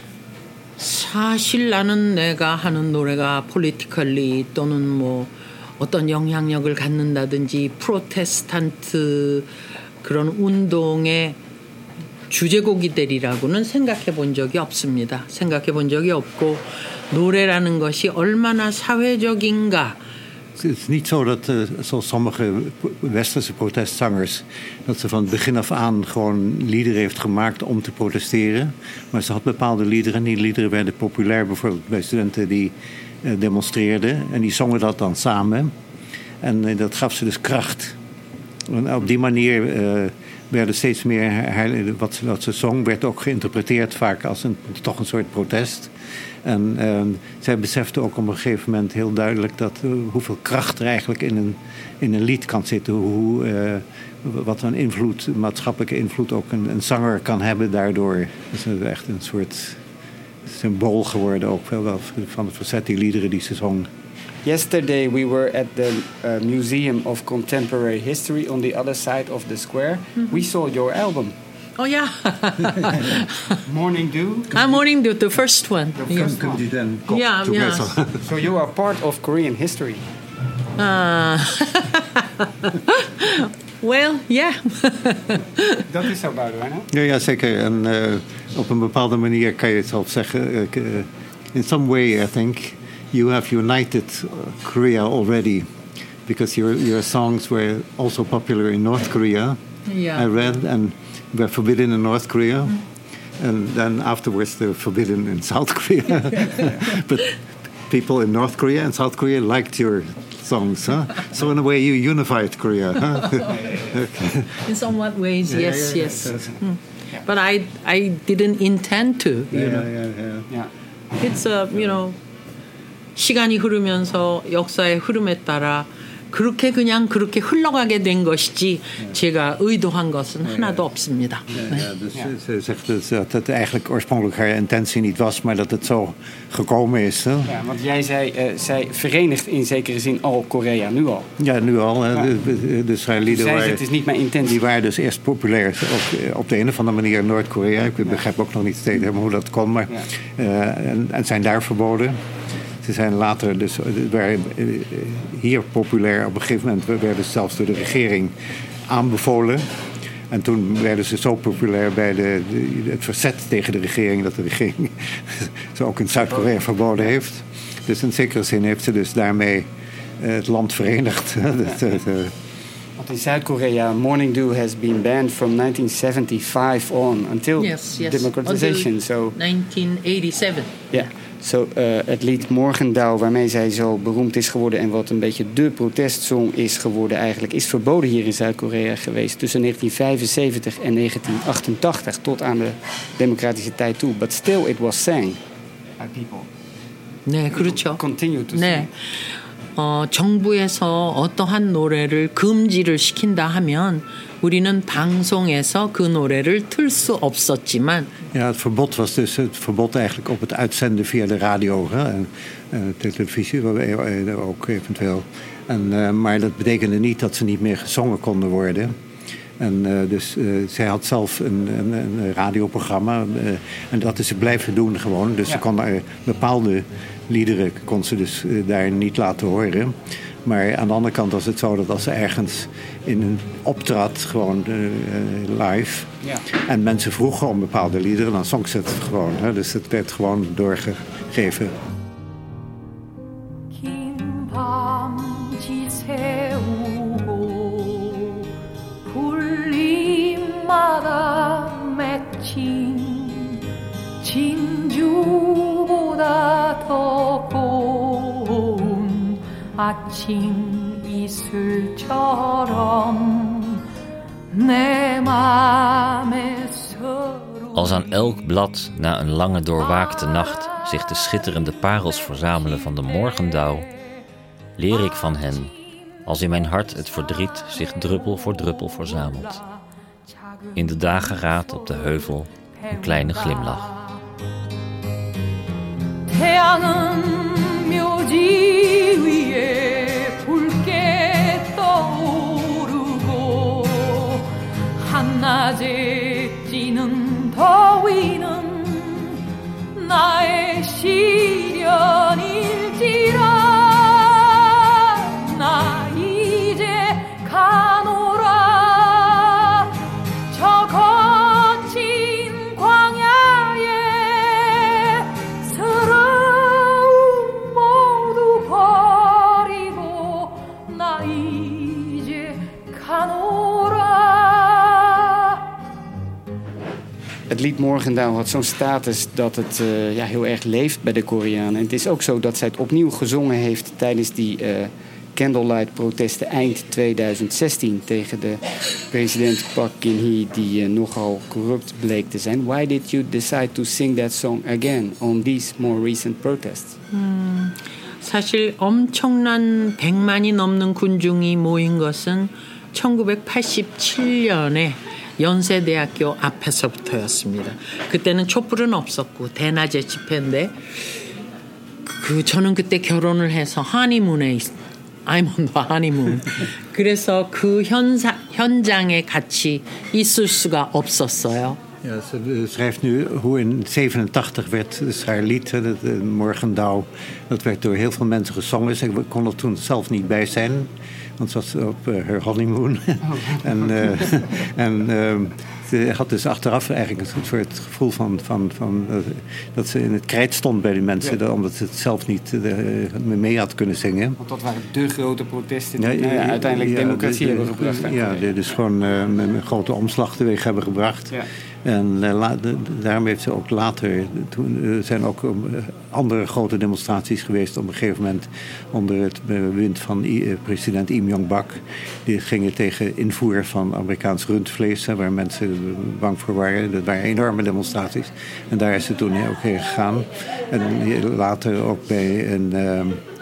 사실 나는 내가 하는 노래가 politically 또는 뭐 어떤 영향력을 갖는다든지 프로테스탄트 그런 운동의 주제곡이 되리라고는 생각해 본 적이 없습니다. 생각해 본 적이 없고 노래라는 것이 얼마나 사회적인가. Het is niet zo dat, uh, zoals sommige westerse protestzangers, dat ze van het begin af aan gewoon liederen heeft gemaakt om te protesteren. Maar ze had bepaalde liederen en die liederen werden populair, bijvoorbeeld bij studenten die uh, demonstreerden. En die zongen dat dan samen. En uh, dat gaf ze dus kracht. En op die manier uh, werden steeds meer, haar, wat, wat ze zong, werd ook geïnterpreteerd vaak als een, toch een soort protest. En uh, zij besefte ook op een gegeven moment heel duidelijk dat uh, hoeveel kracht er eigenlijk in een, in een lied kan zitten. Hoe, uh, wat een invloed, een maatschappelijke invloed ook een, een zanger kan hebben daardoor. Het is echt een soort symbool geworden ook wel van het verzet, die liederen die ze zong. Yesterday we were at the uh, Museum of Contemporary History on the other side of the square. Mm-hmm. We saw your album. Oh yeah. Morning Dew. Ah, Morning Dew, the first one. The first one. You then got yeah, together. Yeah. So you are part of Korean history. Uh, well, yeah. Dat is zo, Boudewijn, hè? Ja, ja, zeker. En uh, op een bepaalde manier kan je het zelf zeggen. Uh, in some way, I think, you have united Korea already. Because your, your songs were also popular in North Korea. Yeah. I read, and were forbidden in North Korea. Mm. And then afterwards they were forbidden in South Korea. But people in North Korea and South Korea liked your songs, huh? So in a way you unified Korea, huh? Okay. In somewhat ways, yeah, yes, yeah, yes. Yeah, mm. yeah. But I, I didn't intend to, you yeah, know. Yeah, yeah, yeah. It's a, you know, 시간이 흐르면서 역사의 흐름에 따라 그렇게 그냥 그렇게 흘러가게 된 것이지 제가 의도한 것은 하나도 없습니다. Ja, ja, dus ze zegt dus dat het eigenlijk oorspronkelijk haar intentie niet was, maar dat het zo gekomen is. Hè? Ja, want jij zei, uh, zij verenigt in zekere zin al Korea, nu al. Ja, nu al. Hè. Ja. De, de Israëlieten waren, het is niet mijn intentie. Die waren dus eerst populair op, op de een of andere manier in Noord-Korea. Ik begrijp ook nog niet steeds helemaal hoe dat kon, maar ja. uh, en, en zijn daar verboden. Ze zijn later dus waren hier populair. Op een gegeven moment werden ze zelfs door de regering aanbevolen. En toen werden ze zo populair bij de, de, het verzet tegen de regering... dat de regering ze ook in Zuid-Korea verboden heeft. Dus in zekere zin heeft ze dus daarmee het land verenigd. Want in Zuid-Korea, morning dew has been banned from nineteen seventy-five on until yes, yes. democratization. Until so, nineteen eighty-seven. Ja, yeah. So, uh, het lied Morgendauw, waarmee zij zo beroemd is geworden... en wat een beetje de protestsong is geworden eigenlijk... is verboden hier in Zuid-Korea geweest tussen negentien vijfenzeventig en negentien achtentachtig... tot aan de democratische tijd toe. But still it was sang by people. 네, 그렇죠. Continue to 네. sing. 어, 정부에서 어떠한 노래를 금지를 시킨다 하면 우리는 방송에서 그 노래를 틀 수 없었지만 ja, het verbod was dus het verbod eigenlijk op het uitzenden via de radio hè, en uh, televisie ook eventueel. En, uh, maar dat betekende niet dat ze niet meer gezongen konden worden. En uh, dus uh, zij had zelf een, een, een radioprogramma uh, en dat is ze blijven doen gewoon. Dus ja. Ze kon uh, bepaalde liederen kon ze dus uh, daar niet laten horen. Maar aan de andere kant was het zo dat als ze ergens in een optrad, gewoon uh, live... Ja. En mensen vroegen om bepaalde liederen, dan zong ze het gewoon. Hè? Dus het werd gewoon doorgegeven. 아침 이슬처럼 내 맘에 Als aan elk blad na een lange doorwaakte nacht zich de schitterende parels verzamelen van de morgendauw, leer ik van hen, als in mijn hart het verdriet zich druppel voor druppel verzamelt. In de dageraad op de heuvel een kleine glimlach. 태양은 묘지 위에 붉게 떠오르고 한낮에 찌는 더위는 나의 시련일지라 나 이제 가노라 저 거친 광야에 서러움 모두 버리고 나 이제 가노라. Het lied Morgendauw had zo'n status dat het uh, ja, heel erg leeft bij de Koreanen. En het is ook zo dat zij het opnieuw gezongen heeft tijdens die uh, candlelight-protesten eind tweeduizend zestien... tegen de president Park Geun-hye, die uh, nogal corrupt bleek te zijn. Why did you decide to sing that song again on these more recent protests? 음, 사실 엄청난 백만이 넘는 군중이 모인 것은 천구백팔십칠 년에 연세대학교 앞에서부터였습니다. 그때는 촛불은 없었고 대낮에 집회인데 그 저는 그때 결혼을 해서 하니문에 있, I'm on the honeymoon. 그래서 그 현사, 현장에 같이 있을 수가 없었어요. Ja, ze schrijft nu hoe in zevenentachtig werd dus haar lied, het Morgendauw, dat werd door heel veel mensen gezongen. Ze kon er toen zelf niet bij zijn, want ze was op uh, haar honeymoon. Oh. en uh, en uh, ze had dus achteraf eigenlijk een soort gevoel van, van, van uh, dat ze in het krijt stond bij die mensen, ja. Omdat ze het zelf niet uh, mee had kunnen zingen. Want dat waren de grote protesten die ja, nou ja, uiteindelijk ja, democratie de, de, hebben gebracht. Ja, die dus gewoon uh, een grote omslag teweeg hebben gebracht. Ja. En uh, la, de, daarom heeft ze ook later... Toen uh, zijn ook um, andere grote demonstraties geweest... op een gegeven moment onder het bewind van uh, president Im Jong-bak. Die gingen tegen invoer van Amerikaans rundvlees... Hè, waar mensen bang voor waren. Dat waren enorme demonstraties. En daar is ze toen ook heen gegaan. En later ook bij een... Uh,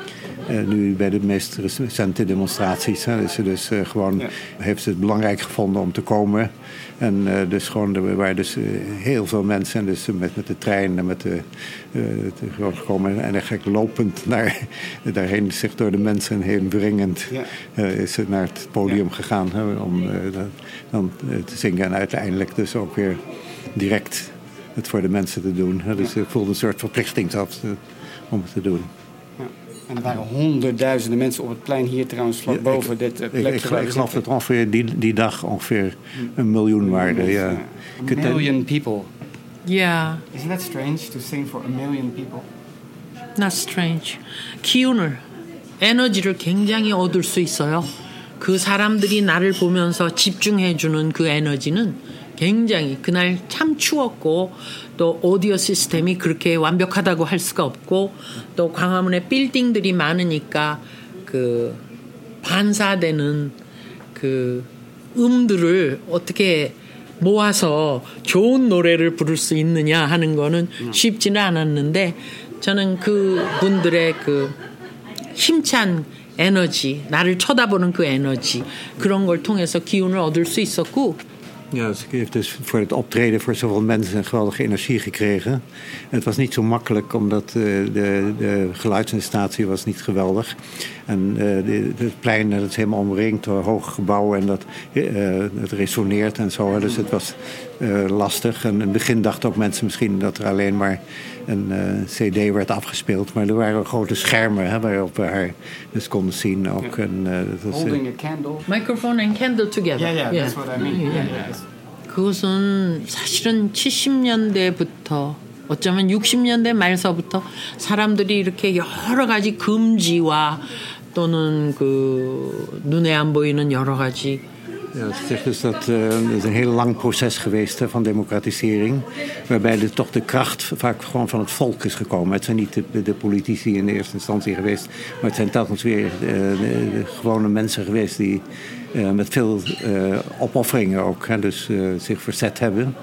Uh, nu bij de meest recente demonstraties. Hè, is ze dus uh, gewoon ja. heeft ze het belangrijk gevonden om te komen. En uh, dus gewoon, er waren dus uh, heel veel mensen. En dus met, met de trein en met de, uh, de, gewoon gekomen. En eigenlijk lopend naar, daarheen, zich door de mensen heen wringend, ja. uh, is ze naar het podium ja. gegaan. Hè, om uh, dat, dan uh, te zingen. En uiteindelijk dus ook weer direct het voor de mensen te doen. Hè. Dus ik voelde een soort verplichting zelfs uh, om het te doen. En er waren honderdduizenden mensen op het plein hier trouwens vlak boven dit uh, plekje. Ik, ik, ik geloof dat ongeveer die, die dag ongeveer een miljoen waren. Ja. A million people. Yeah. Isn't that strange to sing for a million people? Not strange. 기운을, 에너지를 굉장히 얻을 수 있어요. 그 사람들이 나를 보면서 집중해주는 그 에너지는 굉장히 그날 참 추웠고 또 오디오 시스템이 그렇게 완벽하다고 할 수가 없고 또 광화문에 빌딩들이 많으니까 그 반사되는 그 음들을 어떻게 모아서 좋은 노래를 부를 수 있느냐 하는 거는 쉽지는 않았는데 저는 그 분들의 그 힘찬 에너지, 나를 쳐다보는 그 에너지 그런 걸 통해서 기운을 얻을 수 있었고 Ja, dus ik heb dus voor het optreden voor zoveel mensen een geweldige energie gekregen. En het was niet zo makkelijk, omdat uh, de, de geluidsinstallatie was niet geweldig. En uh, de, het plein, dat is helemaal omringd door hoge gebouwen en dat, uh, het resoneert en zo. Dus het was uh, lastig. En in het begin dachten ook mensen misschien dat er alleen maar een uh, cd werd afgespeeld. Maar er waren grote schermen, hè, waarop we haar dus konden zien. Ook. Ja. En, uh, dat was, Holding uh, a candle. Microphone and candle together. Yeah, yeah, that's what I mean. Yeah. Yeah, yeah. 그것은 사실은 칠십 년대부터 어쩌면 육십 년대 말서부터 사람들이 이렇게 여러 가지 금지와 또는 그 눈에 안 보이는 여러 가지. Ja, het zegt dus dat uh, het is een heel lang proces geweest uh, van democratisering. Waarbij de, toch de kracht vaak gewoon van het volk is gekomen. Het zijn niet de, de politici in de eerste instantie geweest. Maar het zijn telkens weer uh, de, de gewone mensen geweest die uh, met veel uh, opofferingen ook hè, dus, uh, zich verzet hebben.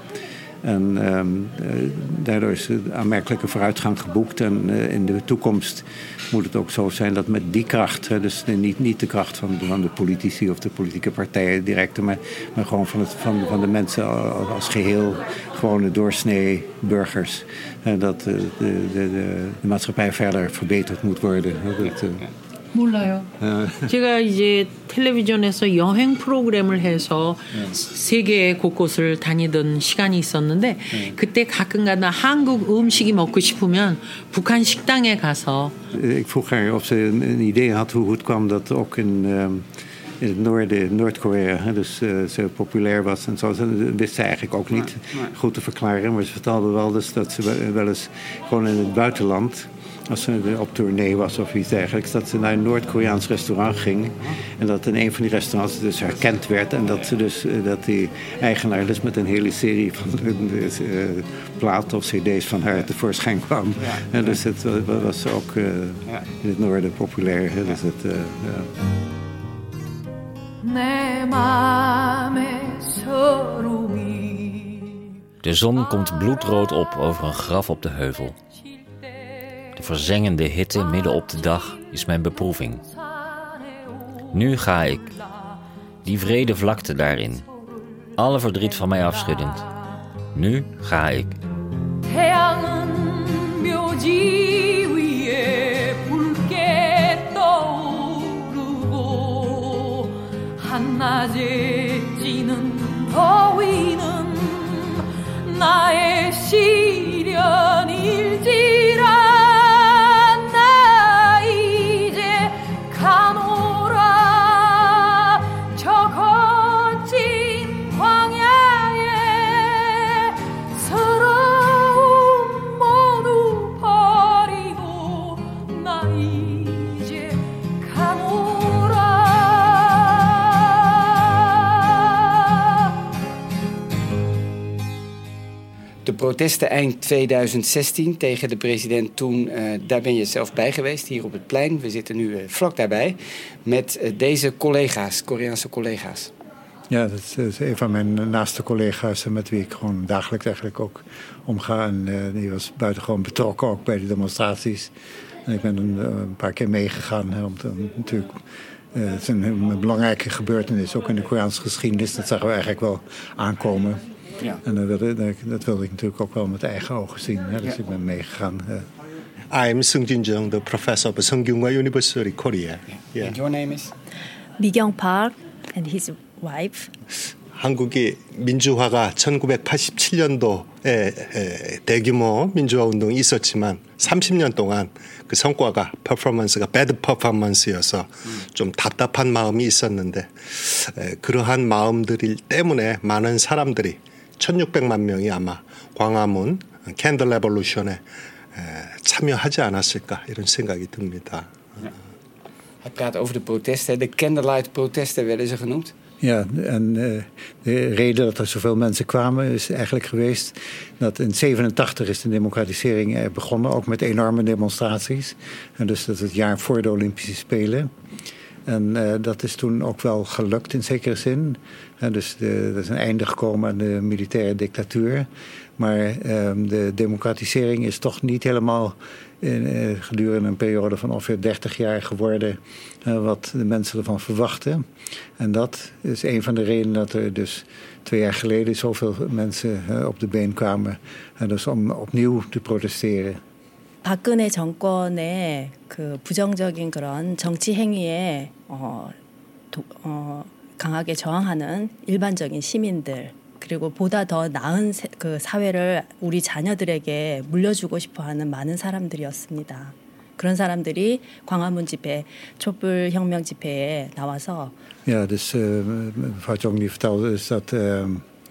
En um, uh, daardoor is een aanmerkelijke vooruitgang geboekt. En uh, in de toekomst moet het ook zo zijn dat met die kracht... Hè, dus niet, niet de kracht van, van de politici of de politieke partijen direct... maar, maar gewoon van, het, van, van de mensen als geheel, gewone doorsnee burgers... Uh, dat uh, de, de, de, de maatschappij verder verbeterd moet worden. Hè, dat, uh, 몰라요. 제가 이제 텔레비전에서 여행 프로그램을 해서 네. 세계 곳곳을 다니던 시간이 있었는데 네. 그때 가끔가다 한국 음식이 먹고 싶으면 북한 식당에 가서 Ik vroeg haar of ze een, een idee had hoe het kwam dat ook in, um, in het noorden, Noord-Korea, dus uh, zo populair was en zo. Dat wist ze eigenlijk ook niet nee, nee. goed te verklaren. Maar ze vertelde wel dus dat ze wel eens gewoon in het buitenland... als ze op tournee was of iets dergelijks... dat ze naar een Noord-Koreaans restaurant ging... en dat in een van die restaurants dus herkend werd... en dat, ze dus, dat die eigenaar dus met een hele serie van uh, platen of cd's van haar tevoorschijn kwam. Ja. En dus het was ook uh, in het noorden populair. Ja. Dus het, uh, ja. De zon komt bloedrood op over een graf op de heuvel. De verzengende hitte midden op de dag is mijn beproeving. Nu ga ik, die vrede vlakte daarin, alle verdriet van mij afschuddend. Nu ga ik. 나의 시련일지라 나 이제 가노라 저 거친 광야에 서러움 모두 버리고 나 이제 가노라. De protesten eind tweeduizend zestien tegen de president toen, uh, daar ben je zelf bij geweest, hier op het plein. We zitten nu uh, vlak daarbij met uh, deze collega's, Koreaanse collega's. Ja, dat is, dat is een van mijn naaste collega's met wie ik gewoon dagelijks eigenlijk ook omga. En uh, die was buitengewoon betrokken ook bij de demonstraties. En ik ben een, een paar keer meegegaan. Hè, om te, om natuurlijk, uh, het is een, een belangrijke gebeurtenis, ook in de Koreaanse geschiedenis. Dat zagen we eigenlijk wel aankomen. Ja. En dat wilde, dat wilde ik natuurlijk ook wel met eigen ogen zien. Hè, dus ja. ik ben meegegaan. Uh. I'm Seung Jin Jung, the professor of Seungkyunghwa University, Korea. Yeah. And your name is? Mi Kyung Park and his wife. 한국이 민주화가 천구백팔십칠 년도에 대규모 민주화 운동이 있었지만 삼십 년 동안 그 성과가 퍼포먼스가 배드 퍼포먼스여서 좀 답답한 마음이 있었는데 그러한 마음들 때문에 많은 사람들이 천육백만 명이 아마 광화문 캔들 레볼루션에 참여하지 않았을까 이런 생각이 듭니다. Hij praat over de protesten. De candlelight protesten werden ze genoemd. Ja, en uh, de reden dat er zoveel mensen kwamen is eigenlijk geweest dat in zevenentachtig is de democratisering begonnen, ook met enorme demonstraties. En dus dat is het jaar voor de Olympische Spelen. En uh, dat is toen ook wel gelukt in zekere zin. En dus de, er is een einde gekomen aan de militaire dictatuur. Maar uh, de democratisering is toch niet helemaal in, uh, gedurende een periode van ongeveer dertig jaar geworden uh, wat de mensen ervan verwachten. En dat is een van de redenen dat er dus twee jaar geleden zoveel mensen uh, op de been kwamen. En dus om opnieuw te protesteren. 박근혜 정권의 그 부정적인 그런 정치 행위에 어, 도, 어, 강하게 저항하는 일반적인 시민들 그리고 보다 더 나은 세, 그 사회를 우리 자녀들에게 물려주고 싶어하는 많은 사람들이었습니다. 그런 사람들이 광화문 집회, 촛불 혁명 집회에 나와서. Ja, dus uh, mevrouw Chong die vertelde dus dat uh,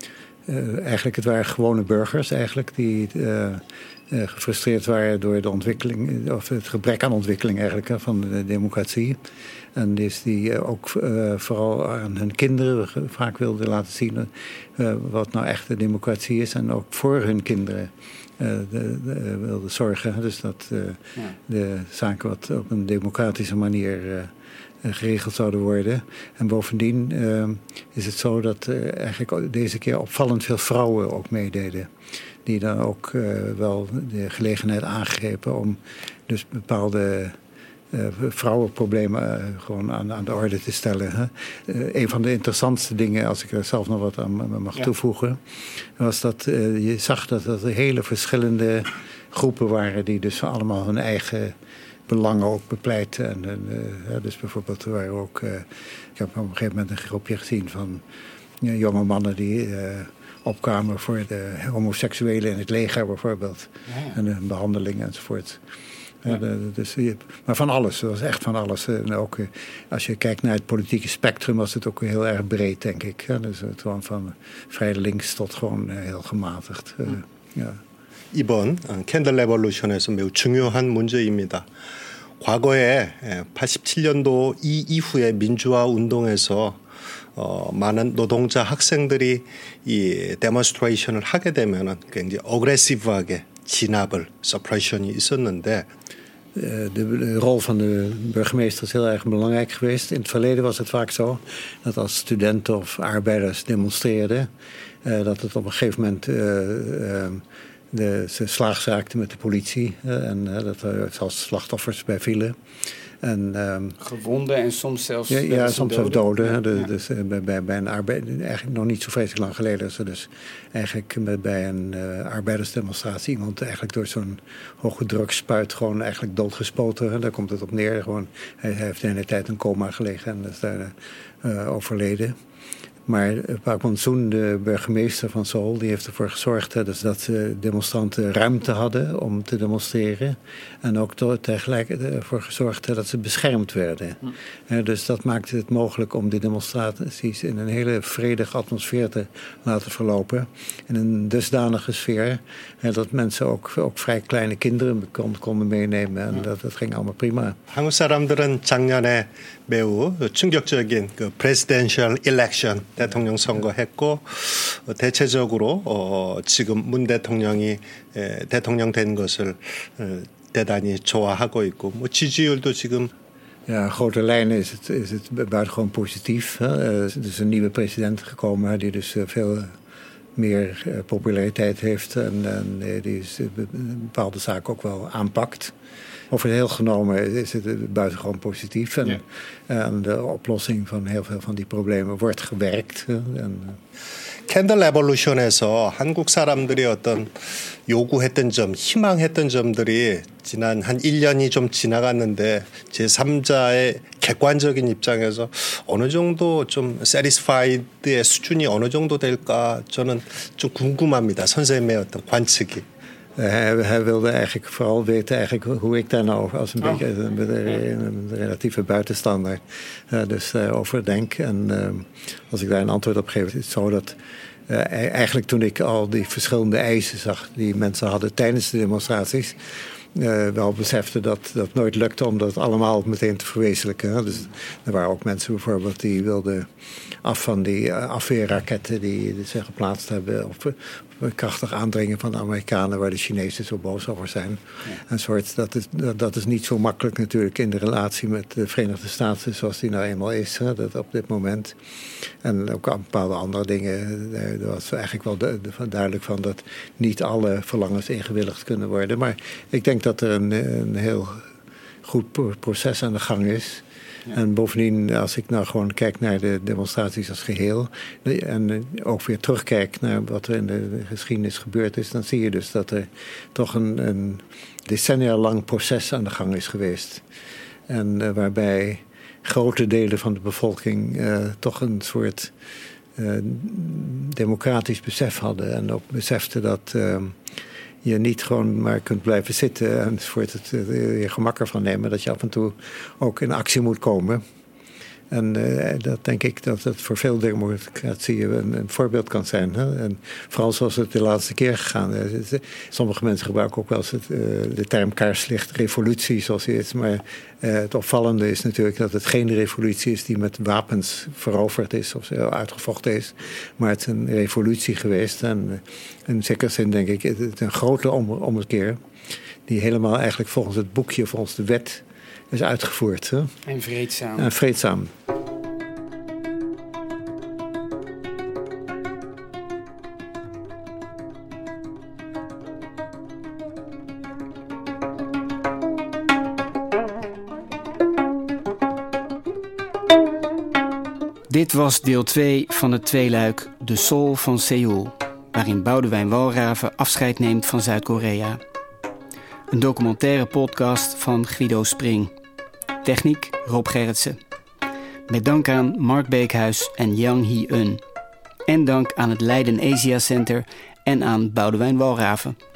uh, eigenlijk het waren gewone burgers eigenlijk die uh, uh, gefrustreerd waren door de ontwikkeling of het gebrek aan ontwikkeling eigenlijk hè, van de democratie. En dus die uh, ook uh, vooral aan hun kinderen vaak wilden laten zien uh, wat nou echt de democratie is en ook voor hun kinderen uh, de, de, wilden zorgen. Dus dat uh, ja. de zaken wat op een democratische manier uh, geregeld zouden worden. En bovendien uh, is het zo dat uh, eigenlijk deze keer opvallend veel vrouwen ook meededen. Die dan ook uh, wel de gelegenheid aangrepen om dus bepaalde uh, vrouwenproblemen uh, gewoon aan, aan de orde te stellen. Hè. Uh, een van de interessantste dingen, als ik er zelf nog wat aan mag ja. toevoegen, was dat uh, je zag dat er hele verschillende groepen waren die dus allemaal hun eigen belangen ook bepleiten. En, uh, dus bijvoorbeeld er waren ook, uh, ik heb op een gegeven moment een groepje gezien van uh, jonge mannen die uh, opkwamen voor de homoseksuelen in het leger bijvoorbeeld. Ja. En de behandeling enzovoort. Ja. Uh, de, dus, maar van alles, dat was echt van alles. En ook uh, als je kijkt naar het politieke spectrum was het ook heel erg breed, denk ik. Ja, dus het gewoon van vrij links tot gewoon uh, heel gematigd. Uh, 음. ja. 이번 캔들 레볼루션에서 매우 중요한 문제입니다. 과거에 팔십칠 년도 이 이후의 민주화 운동에서 어, 많은 노동자 학생들이 이 데몬스트레이션을 하게 되면은 굉장히 어그레시브하게 진압을 서프레션이 있었는데. De, de rol van de burgemeester is heel erg belangrijk geweest. In het verleden was het vaak zo dat als studenten of arbeiders demonstreerden, uh, dat het op een gegeven moment uh, uh, de, ze slaags raakten met de politie uh, en uh, dat er zelfs slachtoffers bij vielen. En, um, gewonden en soms zelfs ja, ja soms zelfs doden. Ja. De, dus uh, bij, bij, bij een arbeider, eigenlijk nog niet zo vreselijk lang geleden is er dus eigenlijk bij een uh, arbeidersdemonstratie iemand eigenlijk door zo'n hoge drugspuit gewoon eigenlijk doodgespoten. En daar komt het op neer. Gewoon, hij, hij heeft de hele tijd in coma gelegen en is daar uh, overleden. Maar Park Monsoon, de burgemeester van Seoul, die heeft ervoor gezorgd hè, dus dat de demonstranten ruimte hadden om te demonstreren. En ook tegelijkertijd ervoor gezorgd hè, dat ze beschermd werden. Hm. Uh, dus dat maakte het mogelijk om de demonstraties in een hele vredige atmosfeer te laten verlopen. In een dusdanige sfeer hè, dat mensen ook, ook vrij kleine kinderen kon, konden meenemen. En dat, dat ging allemaal prima. 한국 사람들은 작년에 매우 충격적인 그 presidential election 대통령 선거했고 대체적으로 어, 지금 문 대통령이 에, 대통령 된 것을 에, 대단히 좋아하고 있고 뭐 지지율도 지금 Ja, in grote lijnen is het, is het buitengewoon positief. Hè. Er is een nieuwe president gekomen die dus veel meer uh, populariteit heeft en, en uh, die is, uh, bepaalde zaken ook wel aanpakt. Over het heel genomen is het buitengewoon positief. En, ja. en de oplossing van heel veel van die problemen wordt gewerkt. En, 캔들 레볼루션에서 한국 사람들이 어떤 요구했던 점, 희망했던 점들이 지난 한 일 년이 좀 지나갔는데 제삼자의 객관적인 입장에서 어느 정도 좀 satisfied의 수준이 어느 정도 될까 저는 좀 궁금합니다. 선생님의 어떤 관측이. Hij, hij wilde eigenlijk vooral weten eigenlijk hoe ik daar nou als een oh. beetje een, een, een relatieve buitenstander uh, dus uh, over denk. En uh, als ik daar een antwoord op geef, is het zo dat uh, eigenlijk toen ik al die verschillende eisen zag die mensen hadden tijdens de demonstraties, Uh, wel besefte dat dat nooit lukte om dat allemaal meteen te verwezenlijken. Dus er waren ook mensen bijvoorbeeld die wilden af van die uh, afweerraketten die, die zich geplaatst hebben. Of, of krachtig aandringen van de Amerikanen waar de Chinezen zo boos over zijn. Ja. Een soort, dat, is, dat, dat is niet zo makkelijk natuurlijk in de relatie met de Verenigde Staten zoals die nou eenmaal is. Hè, dat op dit moment. En ook aan bepaalde andere dingen. Er was eigenlijk wel de, de, duidelijk van dat niet alle verlangens ingewilligd kunnen worden. Maar ik denk dat er een, een heel goed proces aan de gang is. Ja. En bovendien, als ik nou gewoon kijk naar de demonstraties als geheel en ook weer terugkijk naar wat er in de geschiedenis gebeurd is, dan zie je dus dat er toch een, een decennia lang proces aan de gang is geweest. En uh, waarbij grote delen van de bevolking uh, toch een soort uh, democratisch besef hadden en ook beseften dat Uh, je niet gewoon maar kunt blijven zitten en voor het je gemak ervan nemen, dat je af en toe ook in actie moet komen. En uh, dat denk ik dat het voor veel democratieën een, een voorbeeld kan zijn. Hè? En vooral zoals het de laatste keer gegaan is. Sommige mensen gebruiken ook wel eens het, uh, de term kaarslicht revolutie, zoals die is. Maar uh, het opvallende is natuurlijk dat het geen revolutie is die met wapens veroverd is of uitgevochten is. Maar het is een revolutie geweest. En uh, in zekere zin denk ik, het is een grote om, ommekeer die helemaal eigenlijk volgens het boekje, volgens de wet is uitgevoerd. Hè? En vreedzaam. En vreedzaam. Dit was deel twee van het tweeluik De Soul van Seoul, waarin Boudewijn Walraven afscheid neemt van Zuid-Korea. Een documentaire podcast van Guido Spring. Techniek Rob Gerritsen. Met dank aan Mark Beekhuis en Yang Hee-eun. En dank aan het Leiden Asia Center en aan Boudewijn Walraven.